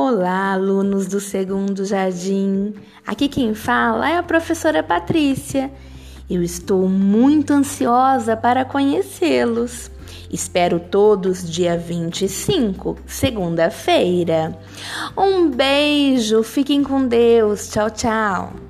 Olá, alunos do segundo jardim. Aqui quem fala é a professora Patrícia. Eu estou muito ansiosa para conhecê-los. Espero todos dia 25, segunda-feira. Um beijo, fiquem com Deus. Tchau, tchau.